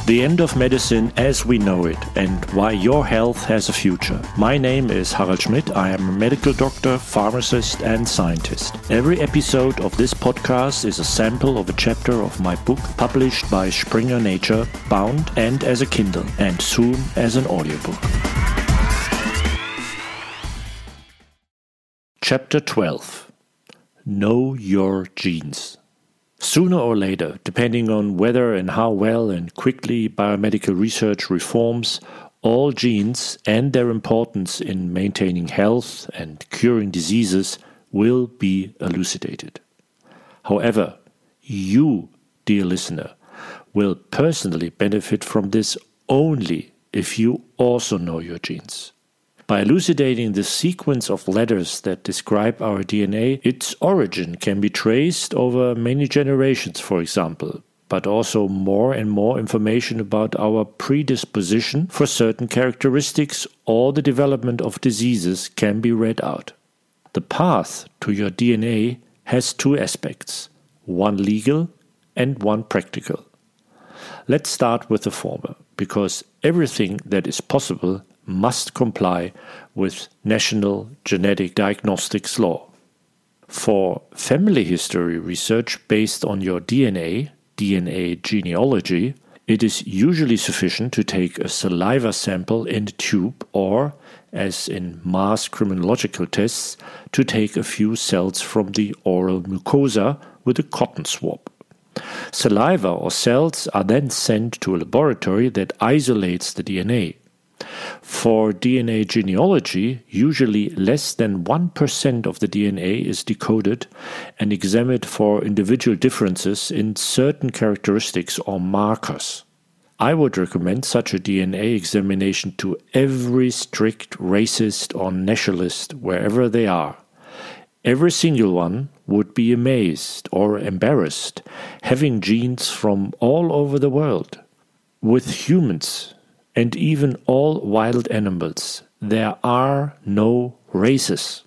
The end of medicine as we know it and why your health has a future. My name is Harald Schmidt. I am a medical doctor, pharmacist and scientist. Every episode of this podcast is a sample of a chapter of my book published by Springer Nature, bound and as a Kindle and soon as an audiobook. Chapter 12. Know your genes. Sooner or later, depending on whether and how well and quickly biomedical research reforms, all genes and their importance in maintaining health and curing diseases will be elucidated. However, you, dear listener, will personally benefit from this only if you also know your genes. By elucidating the sequence of letters that describe our DNA, its origin can be traced over many generations, for example, but also more and more information about our predisposition for certain characteristics or the development of diseases can be read out. The path to your DNA has two aspects, one legal and one practical. Let's start with the former, because everything that is possible must comply with national genetic diagnostics law. For family history research based on your DNA genealogy, it is usually sufficient to take a saliva sample in a tube or, as in mass criminological tests, to take a few cells from the oral mucosa with a cotton swab. Saliva or cells are then sent to a laboratory that isolates the DNA. For DNA genealogy, usually less than 1% of the DNA is decoded and examined for individual differences in certain characteristics or markers. I would recommend such a DNA examination to every strict racist or nationalist wherever they are. Every single one would be amazed or embarrassed having genes from all over the world. With humans, and even all wild animals, there are no races.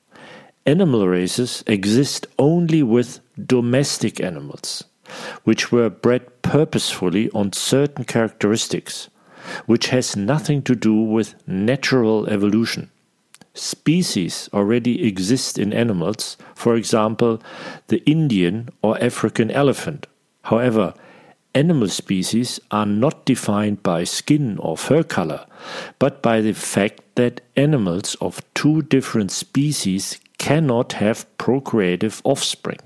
Animal races exist only with domestic animals, which were bred purposefully on certain characteristics, which has nothing to do with natural evolution. Species already exist in animals, for example, the Indian or African elephant. However, animal species are not defined by skin or fur color, but by the fact that animals of two different species cannot have procreative offspring.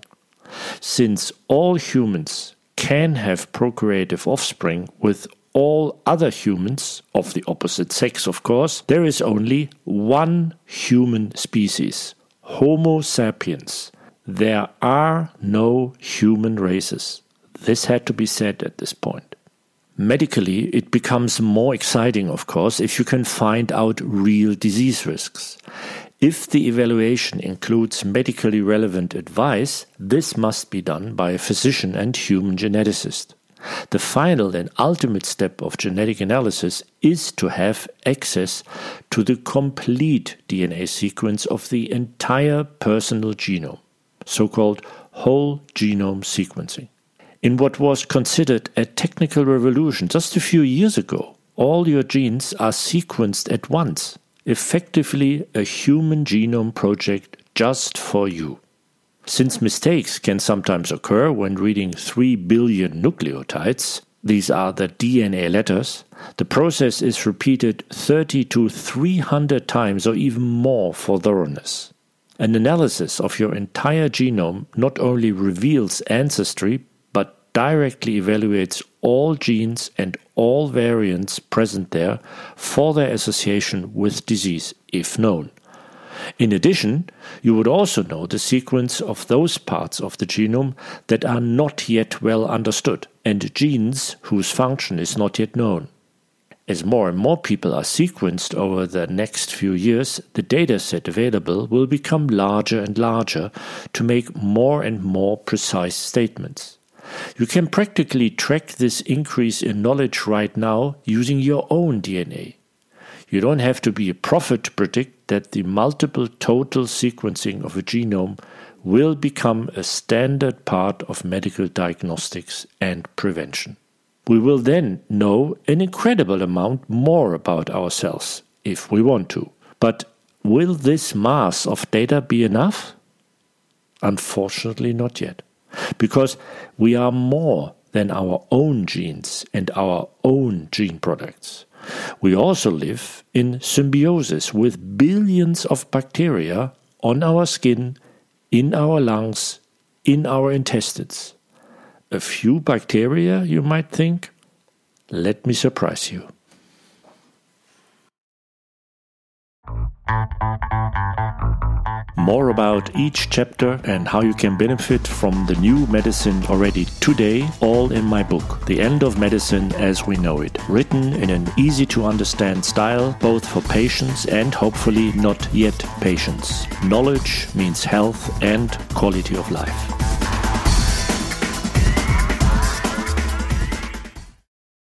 Since all humans can have procreative offspring with all other humans, of the opposite sex of course, there is only one human species, Homo sapiens. There are no human races. This had to be said at this point. Medically, it becomes more exciting, of course, if you can find out real disease risks. If the evaluation includes medically relevant advice, this must be done by a physician and human geneticist. The final and ultimate step of genetic analysis is to have access to the complete DNA sequence of the entire personal genome, so-called whole genome sequencing. In what was considered a technical revolution just a few years ago, all your genes are sequenced at once, effectively a human genome project just for you. Since mistakes can sometimes occur when reading 3 billion nucleotides, these are the DNA letters, the process is repeated 30 to 300 times or even more for thoroughness. An analysis of your entire genome not only reveals ancestry, but directly evaluates all genes and all variants present there for their association with disease, if known. In addition, you would also know the sequence of those parts of the genome that are not yet well understood, and genes whose function is not yet known. As more and more people are sequenced over the next few years, the dataset available will become larger and larger to make more and more precise statements. You can practically track this increase in knowledge right now using your own DNA. You don't have to be a prophet to predict that the multiple total sequencing of a genome will become a standard part of medical diagnostics and prevention. We will then know an incredible amount more about ourselves, if we want to. But will this mass of data be enough? Unfortunately not yet. Because we are more than our own genes and our own gene products. We also live in symbiosis with billions of bacteria on our skin, in our lungs, in our intestines. A few bacteria, you might think? Let me surprise you. More about each chapter and how you can benefit from the new medicine already today, all in my book, The End of Medicine as We Know It, written in an easy-to-understand style, both for patients and hopefully not yet patients. Knowledge means health and quality of life.